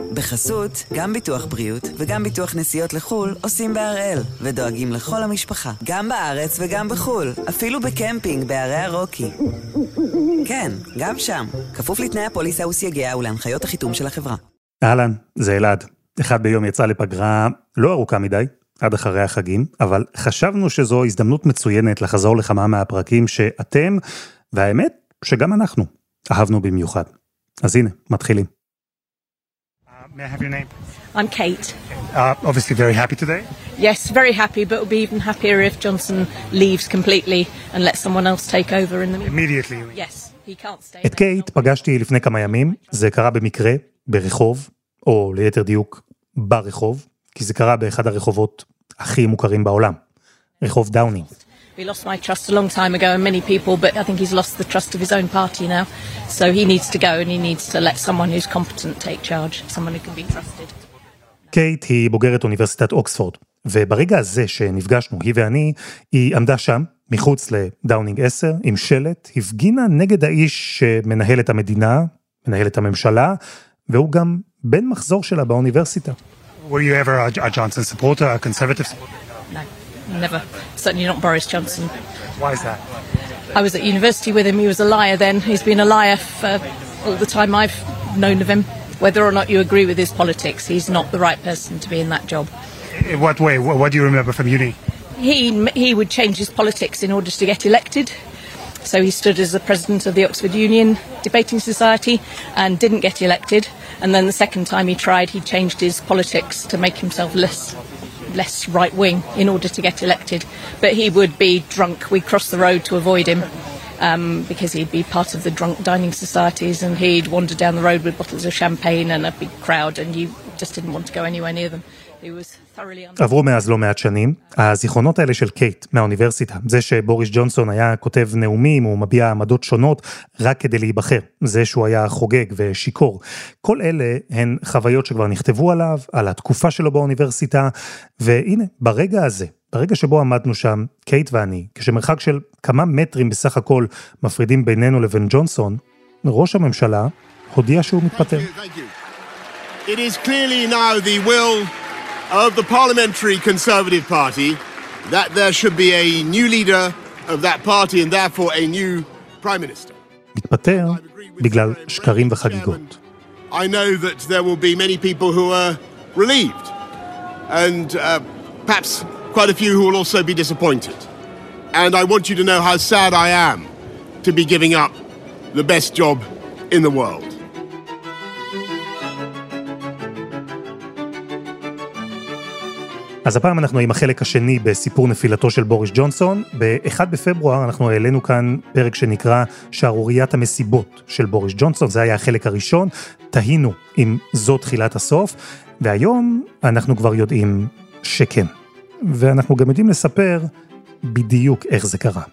בחסות, גם ביטוח בריאות וגם ביטוח נסיעות לחול עושים בהראל, ודואגים לכל המשפחה, גם בארץ וגם בחול, אפילו בקמפינג בערי הרוקי. כן, גם שם, כפוף לתנאי הפוליסה וסייגיה ולהנחיות החיתום של החברה. אהלן, זה אלעד. אחד ביום יצא לפגרה לא ארוכה מדי, עד אחרי החגים, אבל חשבנו שזו הזדמנות מצוינת לחזור לכמה מהפרקים שאתם, והאמת שגם אנחנו, אהבנו במיוחד. אז הנה, מתחילים. May I have your name? I'm Kate. Obviously very happy today. Yes, very happy, but we'll be even happier if Johnson leaves completely and lets someone else take over in the meantime. Immediately. Yes, he can't stay. את קייט פגשתי לפני כמה ימים, זה קרה במקרה, ברחוב, או ליתר דיוק, ברחוב, כי זה קרה באחד הרחובות הכי מוכרים בעולם, רחוב דאונינג. He lost my trust a long time ago and many people, but I think he's lost the trust of his own party now. So he needs to go and he needs to let someone who's competent take charge, someone who can be trusted. קייט היא בוגרת אוניברסיטת אוקספורד, וברגע הזה שנפגשנו, היא ואני, היא עמדה שם, מחוץ לדאונינג 10, עם שלט, הפגינה נגד האיש שמנהל את המדינה, מנהל את הממשלה, והוא גם בן מחזור שלה באוניברסיטה. Were you ever a Johnson supporter, a conservative supporter? No, never. Certainly not Boris Johnson. Why is that? I was at university with him. He was a liar then. He's been a liar for all the time I've known of him. Whether or not you agree with his politics, he's not the right person to be in that job. In what way? What do you remember from uni? He would change his politics in order to get elected. So he stood as the president of the Oxford Union Debating Society and didn't get elected. And then the second time he tried, he changed his politics to make himself less right-wing in order to get elected. But he would be drunk. We'd cross the road to avoid him because he'd be part of the drunk dining societies and he'd wander down the road with bottles of champagne and a big crowd and you just didn't want to go anywhere near them. עברו מאז לא מעט שנים, הזיכרונות האלה של קייט מהאוניברסיטה, זה שבוריס ג'ונסון היה כותב נאומים, הוא מביע עמדות שונות רק כדי להיבחר, זה שהוא היה חוגג ושיקור, כל אלה הן חוויות שכבר נכתבו עליו, על התקופה שלו באוניברסיטה, והנה, ברגע הזה, ברגע שבו עמדנו שם, קייט ואני, כשמרחק של כמה מטרים בסך הכל מפרידים בינינו לבין ג'ונסון, ראש הממשלה הודיע שהוא מתפטר. It is clearly now the will of the Parliamentary Conservative Party that there should be a new leader of that party and therefore a new Prime Minister. מתפטר בגלל שקרים וחגיגות. I know that there will be many people who are relieved and perhaps quite a few who will also be disappointed. And I want you to know how sad I am to be giving up the best job in the world. אז הפעם אנחנו עם החלק השני בסיפור נפילתו של בוריס ג'ונסון. ב-1 בפברואר אנחנו העלינו כאן פרק שנקרא שערוריית המסיבות של בוריס ג'ונסון, זה היה החלק הראשון, תהינו אם זו תחילת הסוף, והיום אנחנו כבר יודעים שכן. ואנחנו גם יודעים לספר בדיוק איך זה קרה.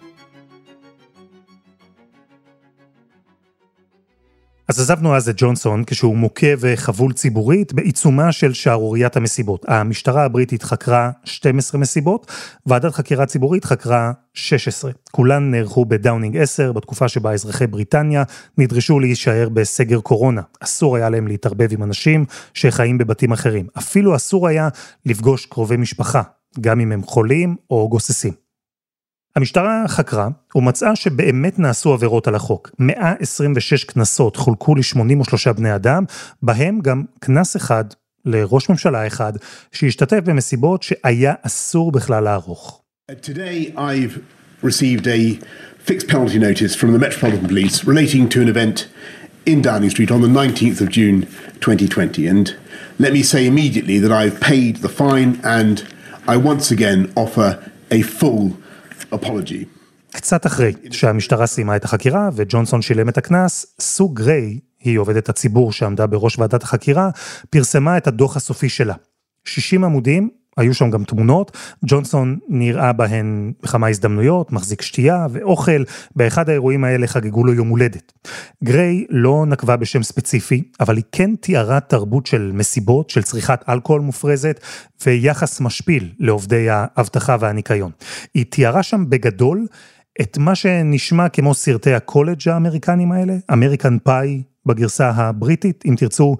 אז עזבנו אז את ג'ונסון כשהוא מוכה וחבול ציבורית בעיצומה של שערוריית המסיבות. המשטרה הבריטית חקרה 12 מסיבות, ועדת חקירה ציבורית חקרה 16. כולן נערכו בדאונינג 10, בתקופה שבה אזרחי בריטניה נדרשו להישאר בסגר קורונה. אסור היה להם להתערבב עם אנשים שחיים בבתים אחרים. אפילו אסור היה לפגוש קרובי משפחה, גם אם הם חולים או גוססים. המשטרה חקרה ומצאה שבאמת נעשו עבירות על החוק. 126 כנסות חולקו ל-83 בני אדם, בהם גם כנס אחד לראש ממשלה אחד, שהשתתף במסיבות שהיה אסור בכלל לערוך. Today I've received a fixed penalty notice from the Metropolitan Police relating to an event in Downing Street on the 19th of June 2020. And let me say immediately that I've paid the fine and I once again offer a full apology. קצת אחרי שהמשטרה סיימה את החקירה וג'ונסון שילם את הכנס, סו גריי, היא עובדת הציבור שעמדה בראש ועדת החקירה, פרסמה את הדוח הסופי שלה. 60 עמודים, היו שם גם תמונות, ג'ונסון נראה בהן בכמה הזדמנויות, מחזיק שתייה ואוכל, באחד האירועים האלה חגגו לו יום הולדת. גריי לא נקבה בשם ספציפי, אבל היא כן תיארה תרבות של מסיבות, של צריכת אלכוהול מופרזת, ויחס משפיל לעובדי האבטחה והניקיון. היא תיארה שם בגדול את מה שנשמע כמו סרטי הקולג' האמריקנים האלה, אמריקן פאי בגרסה הבריטית, אם תרצו,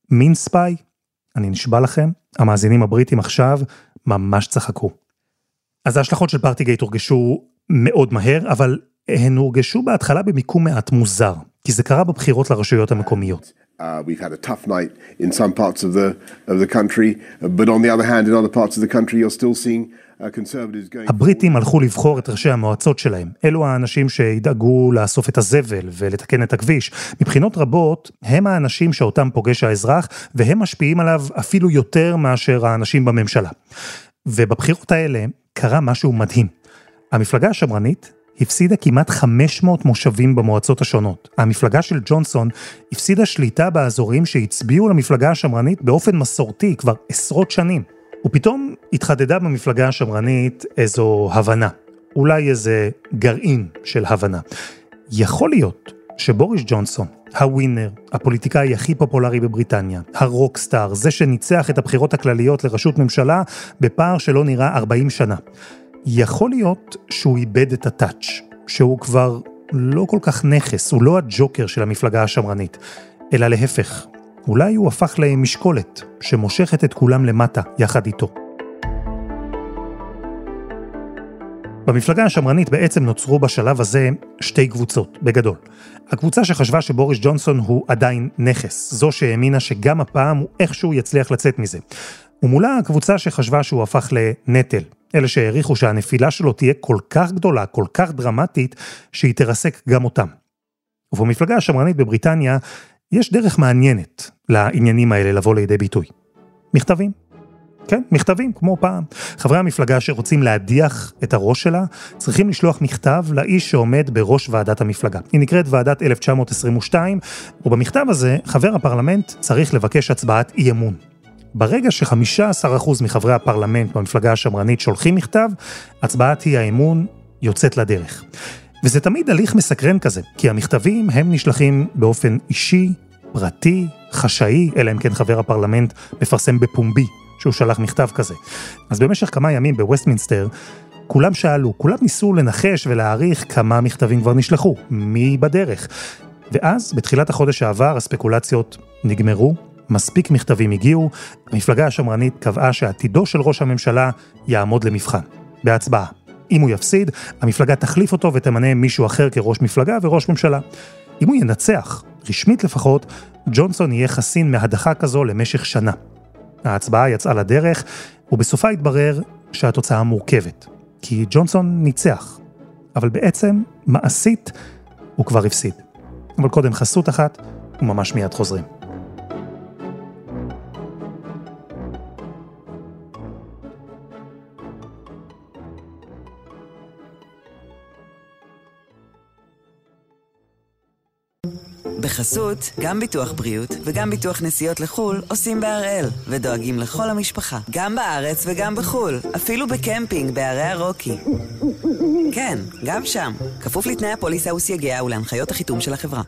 מין ספיי? אני נשבע לכם, המאזינים הבריטים עכשיו ממש צחקו. אז ההשלכות של פארטיגייט הורגשו מאוד מהר, אבל הן הורגשו בהתחלה במיקום מעט מוזר, כי זה קרה בבחירות לרשויות המקומיות. We've had a tough night in some parts of the country, but on the other hand, in other parts of the country, you're still seeing conservatives going... הבריטים הלכו לבחור את ראשי המועצות שלהם. אלו האנשים שידאגו לאסוף את הזבל ולתקן את הכביש. מבחינות רבות, הם האנשים שאותם פוגש האזרח, והם משפיעים עליו אפילו יותר מאשר האנשים בממשלה. ובבחירות האלה קרה משהו מדהים. המפלגה השמרנית הפסידה כמעט 500 מושבים במועצות השונות. המפלגה של ג'ונסון הפסידה שליטה באזורים שהצביעו למפלגה השמרנית באופן מסורתי כבר עשרות שנים. ופתאום התחדדה במפלגה השמרנית איזו הבנה. אולי איזה גרעין של הבנה. יכול להיות שבוריס ג'ונסון, הווינר, הפוליטיקאי הכי פופולרי בבריטניה, הרוקסטאר, זה שניצח את הבחירות הכלליות לראשות ממשלה בפער שלא נראה 40 שנה. יכול להיות שהוא איבד את הטאץ', שהוא כבר לא כל כך נכס, הוא לא הג'וקר של המפלגה השמרנית, אלא להפך, אולי הוא הפך למשקולת שמושכת את כולם למטה יחד איתו. במפלגה השמרנית בעצם נוצרו בשלב הזה שתי קבוצות, בגדול. הקבוצה שחשבה שבוריס ג'ונסון הוא עדיין נכס, זו שהאמינה שגם הפעם הוא איכשהו יצליח לצאת מזה. ומולה הקבוצה שחשבה שהוא הפך לנטל, אלה שהעריכו שהנפילה שלו תהיה כל כך גדולה, כל כך דרמטית, שהיא תרסק גם אותם. ובמפלגה השמרנית בבריטניה, יש דרך מעניינת לעניינים האלה לבוא לידי ביטוי. מכתבים. כן, מכתבים, כמו פעם. חברי המפלגה שרוצים להדיח את הראש שלה, צריכים לשלוח מכתב לאיש שעומד בראש ועדת המפלגה. היא נקראת ועדת 1922, ובמכתב הזה, חבר הפרלמנט צריך לבקש הצבעת אי אמון. ברגע ש15% מחברי הפרלמנט במפלגה השמרנית שולחים מכתב, הצבעת אי האמון יוצאת לדרך. וזה תמיד הליך מסקרן כזה, כי המכתבים הם נשלחים באופן אישי, פרטי, חשאי, אלא אם כן חבר הפרלמנט מפרסם בפומבי שהוא שלח מכתב כזה. אז במשך כמה ימים בווסטמינסטר, כולם שאלו, כולם ניסו לנחש ולהעריך כמה מכתבים כבר נשלחו, מי בדרך. ואז, בתחילת החודש העבר, הספקולציות נגמרו, מספיק מכתבים הגיעו, המפלגה השמרנית קבעה שעתידו של ראש הממשלה יעמוד למבחן, בהצבעה. אם הוא יפסיד, המפלגה תחליף אותו ותמנה מישהו אחר כראש מפלגה וראש ממשלה. אם הוא ינצח, רשמית לפחות, ג'ונסון יהיה חסין מהדחה כזו למשך שנה. ההצבעה יצאה לדרך, ובסופה התברר שהתוצאה מורכבת. כי ג'ונסון ניצח, אבל בעצם, מעשית, הוא כבר הפסיד. אבל קודם חסות אחת, וממש מיד חוזרים. בחסות, גם ביטוח בריאות וגם ביטוח נסיעות לחול עושים בהראל ודואגים לכל המשפחה, גם בארץ וגם בחול, אפילו בקמפינג בערי הרוקי. כן, גם שם, כפוף לתנאי הפוליסה וסייגיה ולהנחיות החיתום של החברה.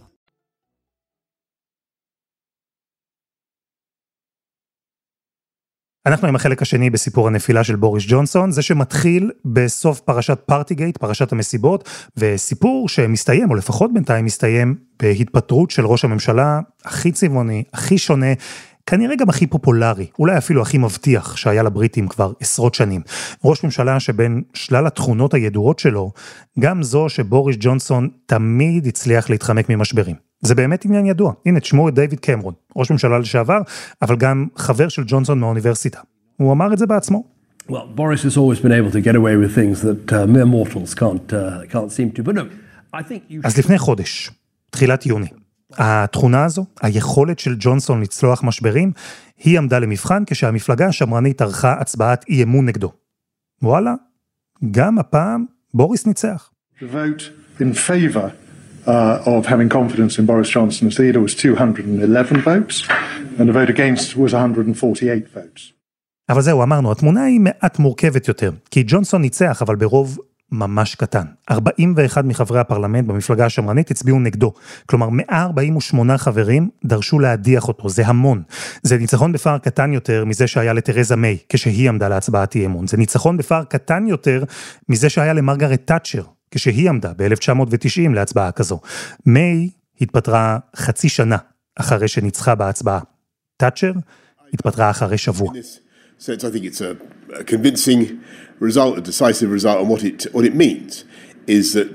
אנחנו עם החלק השני בסיפור הנפילה של בוריס ג'ונסון, זה שמתחיל בסוף פרשת פארטיגייט, פרשת המסיבות, וסיפור שמסתיים, או לפחות בינתיים מסתיים, בהתפטרות של ראש הממשלה הכי צבעוני, הכי שונה, כנראה גם הכי פופולרי, אולי אפילו הכי מבטיח שהיה לבריטים כבר עשרות שנים. ראש ממשלה שבין שלל התכונות הידועות שלו, גם זו שבוריס ג'ונסון תמיד הצליח להתחמק ממשברים. זה באמת עניין ידוע. הנה, תשמעו את דיוויד קמרון, ראש ממשלה לשעבר, אבל גם חבר של ג'ונסון מהאוניברסיטה. הוא אמר את זה בעצמו. Well, Boris has always been able to get away with things that mere mortals can't seem to. But no, I think you... אז לפני חודש, תחילת יוני, התכונה הזו, היכולת של ג'ונסון לצלוח משברים, היא עמדה למבחן כשהמפלגה השמרנית ערכה הצבעת אי אמון נגדו. וואלה, גם הפעם בוריס ניצח. The vote in favor of having confidence in Boris Johnson's leader was 211 votes, and the vote against was 148 votes. אבל זהו, אמרנו, התמונה היא מעט מורכבת יותר, כי ג'ונסון ניצח, אבל ברוב ממש קטן. 41 מחברי הפרלמנט במפלגה השמרנית הצביעו נגדו. כלומר, 148 חברים דרשו להדיח אותו. זה המון. זה ניצחון בפער קטן יותר מזה שהיה לתרזה מיי, כשהיא עמדה להצבעת אי אמון. זה ניצחון בפער קטן יותר מזה שהיה למרגרט תאצ'ר, כשהיא עמדה ב-1990 להצבעה כזו. מיי התפטרה חצי שנה אחרי שניצחה בהצבעה. תאצ'ר התפטרה אחרי שבוע. So I think it's a convincing result, a decisive result, and what it means is that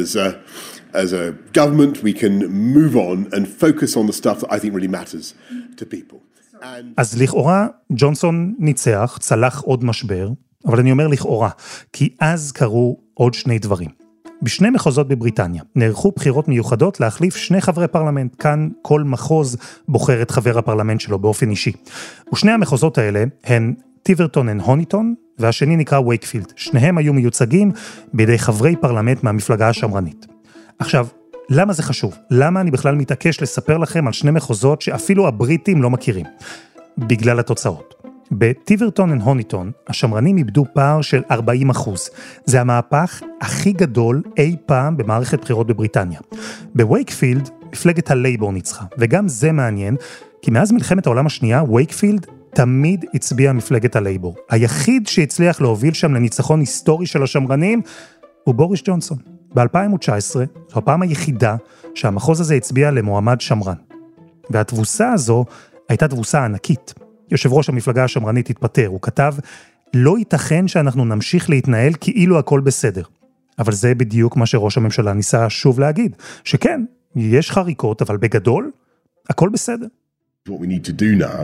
as a government we can move on and focus on the stuff that I think really matters to people. אז לכאורה ג'ונסון ניצח, צלח עוד משבר, אבל אני אומר לכאורה, כי אז קרו עוד שני דברים. בשני מחוזות בבריטניה נערכו בחירות מיוחדות להחליף שני חברי פרלמנט. כאן כל מחוז בוחר את חבר הפרלמנט שלו באופן אישי. ושני המחוזות האלה הן טיברטון אנד הוניטון, והשני נקרא וייקפילד. שניהם היו מיוצגים בידי חברי פרלמנט מהמפלגה השמרנית. עכשיו, למה זה חשוב? למה אני בכלל מתעקש לספר לכם על שני מחוזות שאפילו הבריטים לא מכירים? בגלל התוצאות. בטיברטון אנד הוניטון, השמרנים איבדו פער של 40%. זה המהפך הכי גדול אי פעם במערכת בחירות בבריטניה. בווייקפילד, מפלגת הלייבור ניצחה, וגם זה מעניין, כי מאז מלחמת העולם השנייה, וייקפילד תמיד הצביע מפלגת הלייבור. היחיד שהצליח להוביל שם לניצחון היסטורי של השמרנים, הוא בוריס ג'ונסון. ב-2019, זו הפעם היחידה שהמחוז הזה הצביע למועמד שמרן. והתבוסה הזו הייתה תבוסה ענקית. יושב ראש המפלגה השמרנית התפטר, הוא כתב, לא ייתכן שאנחנו נמשיך להתנהל כאילו הכל בסדר. אבל זה בדיוק מה שראש הממשלה ניסה שוב להגיד, שכן, יש חריקות, אבל בגדול, הכל בסדר. What we need to do now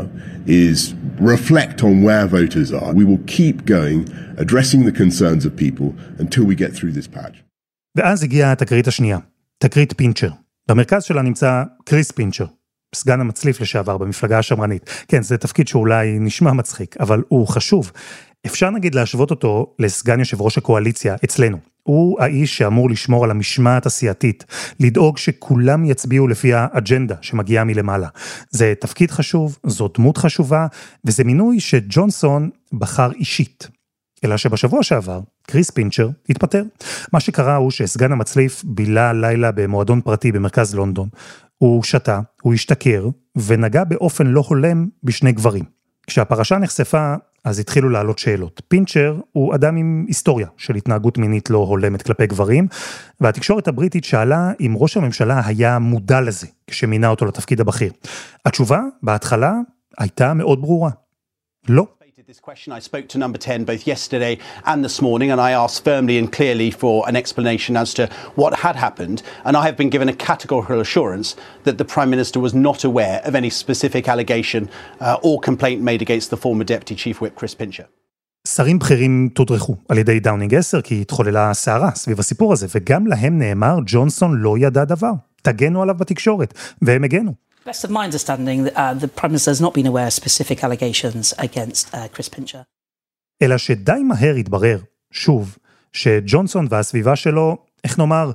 is reflect on where voters are. We will keep going, addressing the concerns of people until we get through this patch. ואז הגיעה התקרית השנייה, תקרית פינצ'ר. במרכז שלה נמצא קריס פינצ'ר, סגן המצליף לשעבר במפלגה השמרנית. כן, זה תפקיד שאולי נשמע מצחיק, אבל הוא חשוב. אפשר נגיד להשוות אותו לסגן יושב ראש הקואליציה אצלנו. הוא האיש שאמור לשמור על המשמעת הסיעתית, לדאוג שכולם יצביעו לפי האג'נדה שמגיעה מלמעלה. זה תפקיד חשוב, זו דמות חשובה, וזה מינוי שג'ונסון בחר אישית. אלא שבשבוע שעבר, קריס פינצ'ר התפטר. מה שקרה הוא שסגן המצליף בילה לילה במועדון פרטי במרכז לונדון. הוא שתה, הוא השתכר, ונגע באופן לא הולם בשני גברים. כשהפרשה נחשפה, אז התחילו לעלות שאלות. פינצ'ר הוא אדם עם היסטוריה של התנהגות מינית לא הולמת כלפי גברים, והתקשורת הבריטית שאלה אם ראש הממשלה היה מודע לזה, כשמינה אותו לתפקיד הבכיר. התשובה, בהתחלה, הייתה מאוד ברורה. לא. This question, I spoke to number 10 both yesterday and this morning, and I asked firmly and clearly for an explanation as to what had happened, and I have been given a categorical assurance that the Prime Minister was not aware of any specific allegation or complaint made against the former Deputy Chief Whip Chris Pincher. שרים בכירים תודרכו על ידי דאונינג 10 כי התחוללה סערה סביב הסיפור הזה, וגם להם נאמר ג'ונסון לא ידע דבר. תגנו עליו בתקשורת, והם הגנו. Best of my understanding, the Prime Minister has not been aware of specific allegations against Chris Pincher. אלא שדי מהר התברר, שוב, שג'ונסון והסביבה שלו, איך נאמר,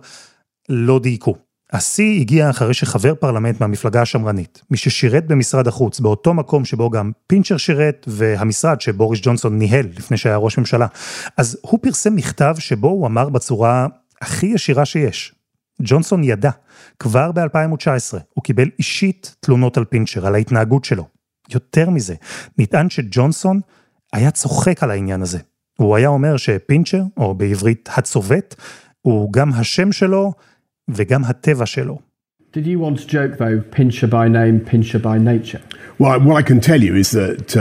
לא דייקו. השיא הגיע אחרי שחבר פרלמנט מהמפלגה השמרנית, מי ששירת במשרד החוץ, באותו מקום שבו גם פינצ'ר שירת, והמשרד שבוריס ג'ונסון ניהל לפני שהיה ראש ממשלה. אז הוא פרסם מכתב שבו הוא אמר בצורה הכי ישירה שיש. ג'ונסון ידע, כבר ב-2019, הוא קיבל אישית תלונות על פינצ'ר, על ההתנהגות שלו. יותר מזה, נטען שג'ונסון היה צוחק על העניין הזה. הוא היה אומר שפינצ'ר, או בעברית הצובט, הוא גם השם שלו וגם הטבע שלו. Did you want to joke though, Pincher by name, Pincher by nature? Well, what I can tell you is that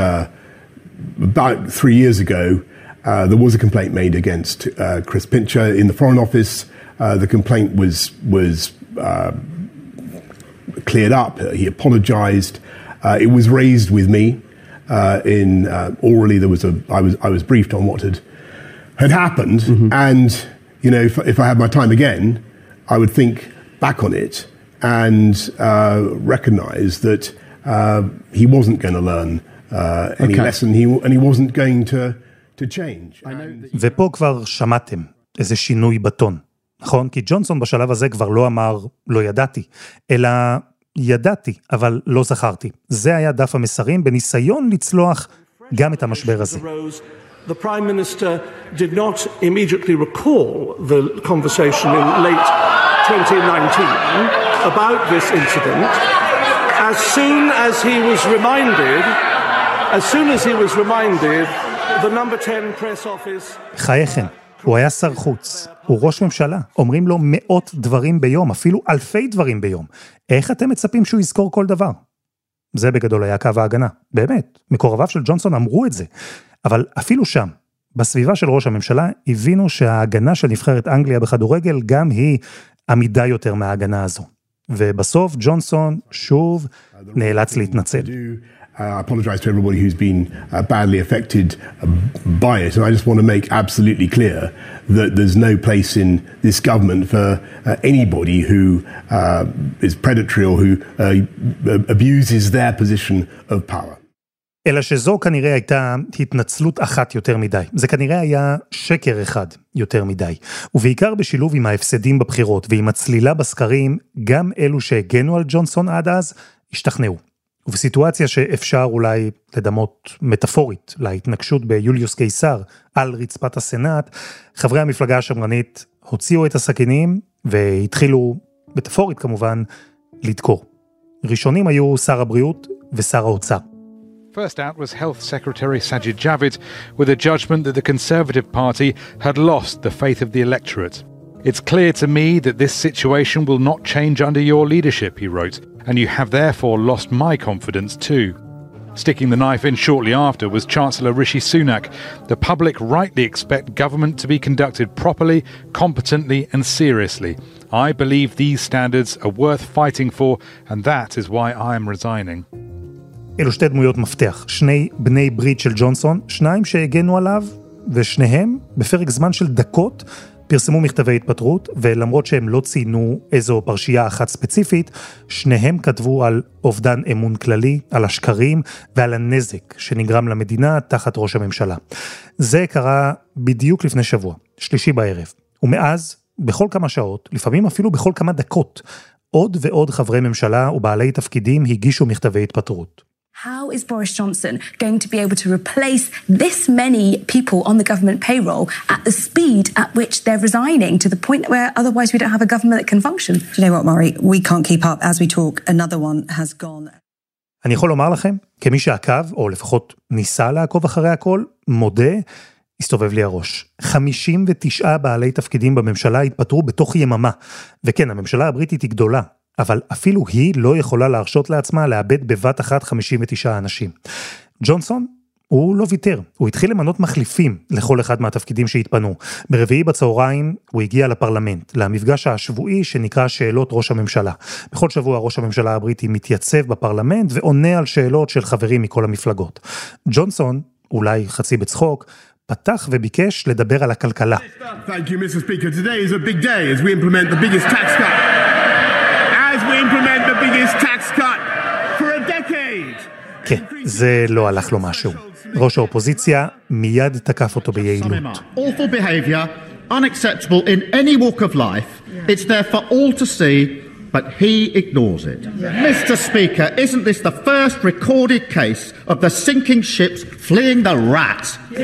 about 3 years ago, there was a complaint made against Chris Pincher in the Foreign Office. The complaint was cleared up. He apologized. It was raised with me. Orally, I was briefed on what had happened. Mm-hmm. And you know, if I had my time again, I would think back on it and recognize that he wasn't going to learn any lesson. He wasn't going to change. ופה כבר שמעתם איזה שינוי בטון. נכון? כי ג'ונסון בשלב הזה כבר לא אמר לא ידעתי, אלא ידעתי, אבל לא זכרתי. זה היה דף המסרים בניסיון לצלוח גם את המשבר הזה. The Prime Minister did not immediately recall the conversation in late 2019 about this incident. As soon as he was reminded, the number 10 press office... חייכם. הוא היה שר חוץ, הוא ראש ממשלה, אומרים לו מאות דברים ביום, אפילו אלפי דברים ביום. איך אתם מצפים שהוא יזכור כל דבר? זה בגדול היה קו ההגנה. באמת, מקורביו של ג'ונסון אמרו את זה. אבל אפילו שם, בסביבה של ראש הממשלה, הבינו שההגנה של נבחרת אנגליה בכדורגל גם היא עמידה יותר מההגנה הזו. ובסוף ג'ונסון שוב נאלץ להתנצל. I apologize to everybody who's been badly affected by it, and I just want to make absolutely clear that there's no place in this government for anybody who is predatory or who abuses their position of power. אלא שזו כנראה הייתה התנצלות אחת יותר מדי. זה כנראה היה שקר אחד יותר מדי. ובעיקר בשילוב עם ההפסדים בבחירות ועם הצלילה בסקרים, גם אלו שהגנו על ג'ונסון עד אז, השתכנעו. ובסיטואציה שאפשר אולי לדמות מטאפורית להתנגשות ביוליוס קיסר על רצפת הסנאט, חברי המפלגה השמרנית הוציאו את הסכינים והתחילו, מטאפורית כמובן, לדקור. ראשונים היו שר הבריאות ושר האוצר. First out was Health Secretary Sajid Javid with a judgment that the Conservative Party had lost the faith of the electorate. It's clear to me that this situation will not change under your leadership, he wrote, and you have therefore lost my confidence too. Sticking the knife in shortly after was Chancellor Rishi Sunak. The public rightly expect government to be conducted properly, competently and seriously. I believe these standards are worth fighting for, and that is why I am resigning. אלו שתי דמויות מפתח, שני בני ברית של ג'ונסון, שניים שהגנו עליו, ושניהם בפרק זמן של דקות פרסמו מכתבי התפטרות, ולמרות שהם לא ציינו איזו פרשייה אחת ספציפית, שניהם כתבו על אובדן אמון כללי, על השקרים ועל הנזק שנגרם למדינה תחת ראש הממשלה. זה קרה בדיוק לפני שבוע, שלישי בערב, ומאז בכל כמה שעות, לפעמים אפילו בכל כמה דקות, עוד ועוד חברי ממשלה ובעלי תפקידים הגישו מכתבי התפטרות. How is Boris Johnson going to be able to replace this many people on the government payroll at the speed at which they're resigning to the point where otherwise we don't have a government that can function? Do you know what, Murray? We can't keep up. As we talk, another one has gone. אני יכול לומר לכם, כמי שעקב, או לפחות ניסה לעקוב אחרי הכל, מודה, הסתובב לי הראש. 59 בעלי תפקידים בממשלה התפטרו בתוך יממה. וכן, הממשלה הבריטית היא גדולה. אבל אפילו היא לא יכולה להרשות לעצמה לאבד בבת אחת 59 אנשים. ג'ונסון, הוא לא ויתר, הוא התחיל למנות מחליפים לכל אחד מהתפקידים שהתפנו. ברביעי בצהריים הוא הגיע לפרלמנט, למפגש השבועי שנקרא שאלות ראש הממשלה. בכל שבוע ראש הממשלה הבריטי מתייצב בפרלמנט ועונה על שאלות של חברים מכל המפלגות. ג'ונסון, אולי חצי בצחוק, פתח וביקש לדבר על הכלכלה. Thank you, Mr. Speaker. Today is a big day as we implement the biggest tax cut. As we implement the biggest tax cut for a decade. כן, זה לא הלך לו משהו. ראש האופוזיציה מיד תקף אותו ביעילות. Awful behavior, unacceptable in any walk of life. It's there for all to see, but he ignores it. Mr. Speaker, isn't this the first recorded case of the sinking ships fleeing the rat?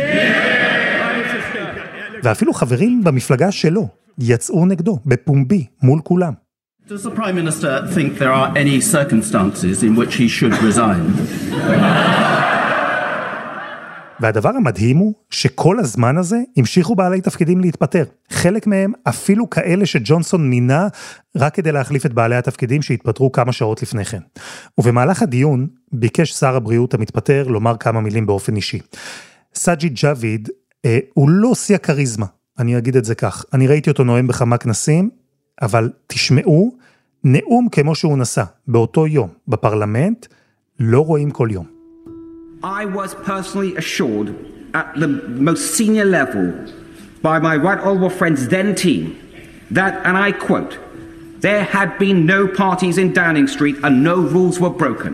ואפילו חברים במפלגה שלו יצאו נגדו בפומבי מול כולם. Does the Prime Minister think there are any circumstances in which he should resign? והדבר המדהים הוא שכל הזמן הזה המשיכו בעלי תפקידים להתפטר. חלק מהם אפילו כאלה שג'ונסון מינה רק כדי להחליף את בעלי התפקידים שהתפטרו כמה שעות לפני כן. ובמהלך הדיון ביקש שר הבריאות המתפטר לומר כמה מילים באופן אישי. סאג'יד ג'אביד הוא לא עושה קריזמה, אני אגיד את זה כך. אני ראיתי אותו נואם בכמה כנסים, אבל תשמעו, נאום כמו שהוא נשא באותו יום בפרלמנט, לא רואים כל יום. I was personally assured at the most senior level by my right honourable friend's then team that, and I quote, there had been no parties in Downing Street and no rules were broken.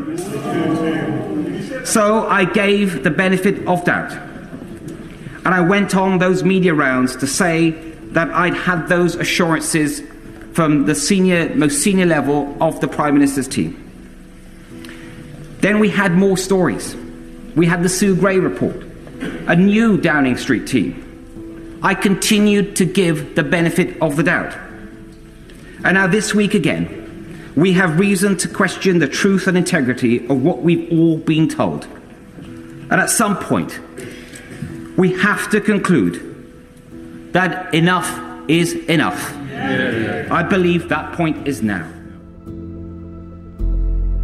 So I gave the benefit of doubt. And I went on those media rounds to say that I'd had those assurances from the most senior level of the Prime Minister's team. Then we had more stories. We had the Sue Gray report, a new Downing Street team. I continued to give the benefit of the doubt. And now this week again, we have reason to question the truth and integrity of what we've all been told. And at some point, we have to conclude that enough is enough. I believe that point is now.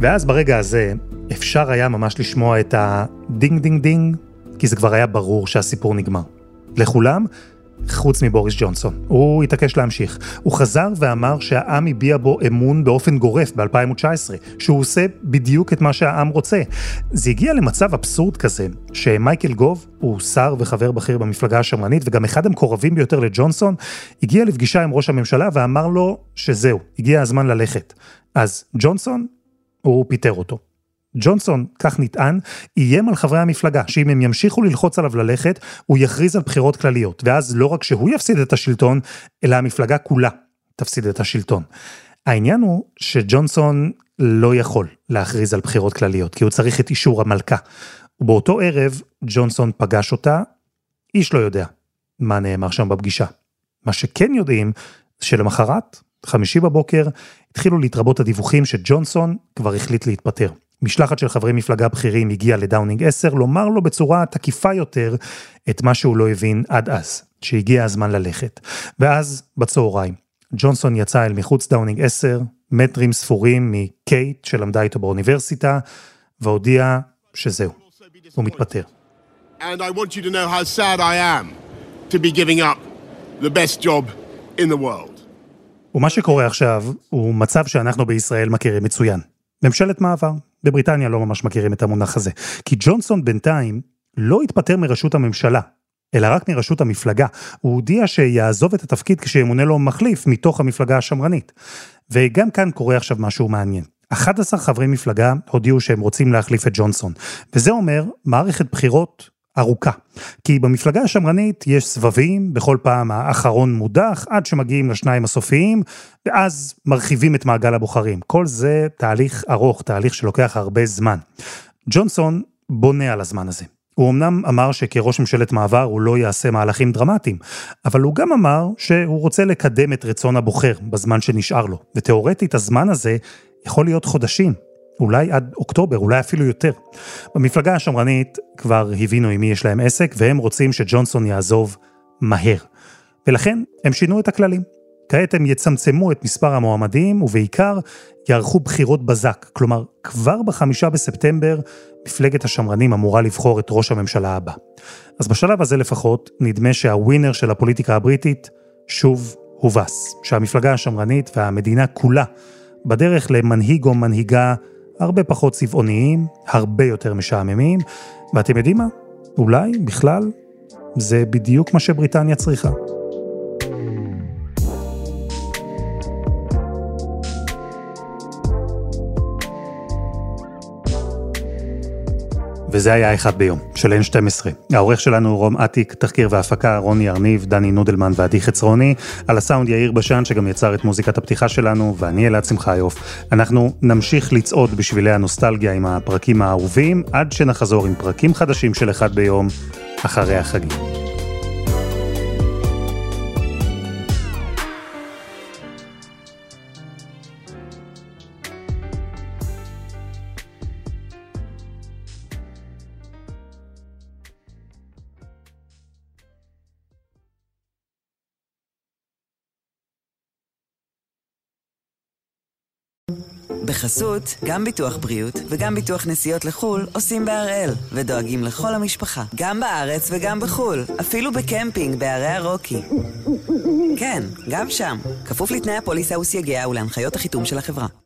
ואז ברגע הזה אפשר היה ממש לשמוע את הדינג דינג דינג, כי זה כבר היה ברור שהסיפור נגמר. לכולם, חוץ מבוריס ג'ונסון. הוא התעקש להמשיך. הוא חזר ואמר שהעם הביע בו אמון באופן גורף ב-2019, שהוא עושה בדיוק את מה שהעם רוצה. זה הגיע למצב אבסורד כזה, שמייקל גוב, הוא שר וחבר בכיר במפלגה השמרנית, וגם אחד המקורבים ביותר לג'ונסון, הגיע לפגישה עם ראש הממשלה ואמר לו שזהו, הגיע הזמן ללכת. אז ג'ונסון, הוא פיטר אותו. ג'ונסון, כך נטען, איים על חברי המפלגה, שאם הם ימשיכו ללחוץ עליו ללכת, הוא יכריז על בחירות כלליות, ואז לא רק שהוא יפסיד את השלטון, אלא המפלגה כולה תפסיד את השלטון. העניין הוא שג'ונסון לא יכול להכריז על בחירות כלליות, כי הוא צריך את אישור המלכה. ובאותו ערב, ג'ונסון פגש אותה, איש לא יודע מה נאמר שם בפגישה. מה שכן יודעים, שלמחרת, 5 בבוקר, התחילו להתרבות הדיווחים שג'ונסון כבר החליט להתפטר. משלחת של חברי מפלגה בכירים הגיעה לדאונינג 10, לומר לו בצורה תקיפה יותר את מה שהוא לא הבין עד אז, שהגיע הזמן ללכת. ואז, בצהריים, ג'ונסון יצא אל מחוץ דאונינג 10, מטרים ספורים מקייט שלמדה איתו באוניברסיטה, והודיע שזהו, הוא מתפטר. And I want you to know how sad I am to be giving up the best job in the world. ומה שקורה עכשיו הוא מצב שאנחנו בישראל מכירים מצוין. ממשלת מעבר. בבריטניה לא ממש מכירים את המונח הזה. כי ג'ונסון בינתיים לא התפטר מראשות הממשלה, אלא רק מראשות המפלגה. הוא הודיע שיעזוב את התפקיד כשימונה לו מחליף מתוך המפלגה השמרנית. וגם כאן קורה עכשיו משהו מעניין. 11 חברי מפלגה הודיעו שהם רוצים להחליף את ג'ונסון. וזה אומר מערכת בחירות ארוכה. כי במפלגה השמרנית יש סבבים, בכל פעם האחרון מודח, עד שמגיעים לשניים הסופיים, ואז מרחיבים את מעגל הבוחרים. כל זה תהליך ארוך, תהליך שלוקח הרבה זמן. ג'ונסון בונה על הזמן הזה. הוא אמנם אמר שכראש ממשלת מעבר הוא לא יעשה מהלכים דרמטיים, אבל הוא גם אמר שהוא רוצה לקדם את רצון הבוחר בזמן שנשאר לו. ותיאורטית הזמן הזה יכול להיות חודשים. אולי עד אוקטובר, אולי אפילו יותר. במפלגה השמרנית כבר הבינו עם מי יש להם עסק, והם רוצים שג'ונסון יעזוב מהר. ולכן הם שינו את הכללים. כעת הם יצמצמו את מספר המועמדים, ובעיקר יערכו בחירות בזק. כלומר, כבר ב5 בספטמבר, מפלגת השמרנים אמורה לבחור את ראש הממשלה הבא. אז בשלב הזה לפחות, נדמה שהווינר של הפוליטיקה הבריטית שוב הובס. שהמפלגה השמרנית והמדינה כולה בדרך למנהיג או מנהיגה הרבה פחות צבעוניים, הרבה יותר משעממים, ואתם יודעים מה? אולי, בכלל, זה בדיוק מה שבריטניה צריכה. וזה היה אחד ביום, של N12. העורך שלנו רום עתיק, תחקיר והפקה, רוני ארניב, דני נודלמן ועדי חצרוני, על הסאונד יאיר בשן, שגם יצר את מוזיקת הפתיחה שלנו, ואני אלעד שמחיוף. אנחנו נמשיך לצעוד בשבילי הנוסטלגיה עם הפרקים האהובים, עד שנחזור עם פרקים חדשים של אחד ביום, אחרי החגים. בחסות, גם ביטוח בריאות וגם ביטוח נסיעות לחול עושים בהראל, ודואגים לכל המשפחה, גם בארץ וגם בחול, אפילו בקמפינג בערי הרוקי. כן, גם שם, כפוף לתנאי הפוליסה וסייגיה ולהנחיות החיתום של החברה.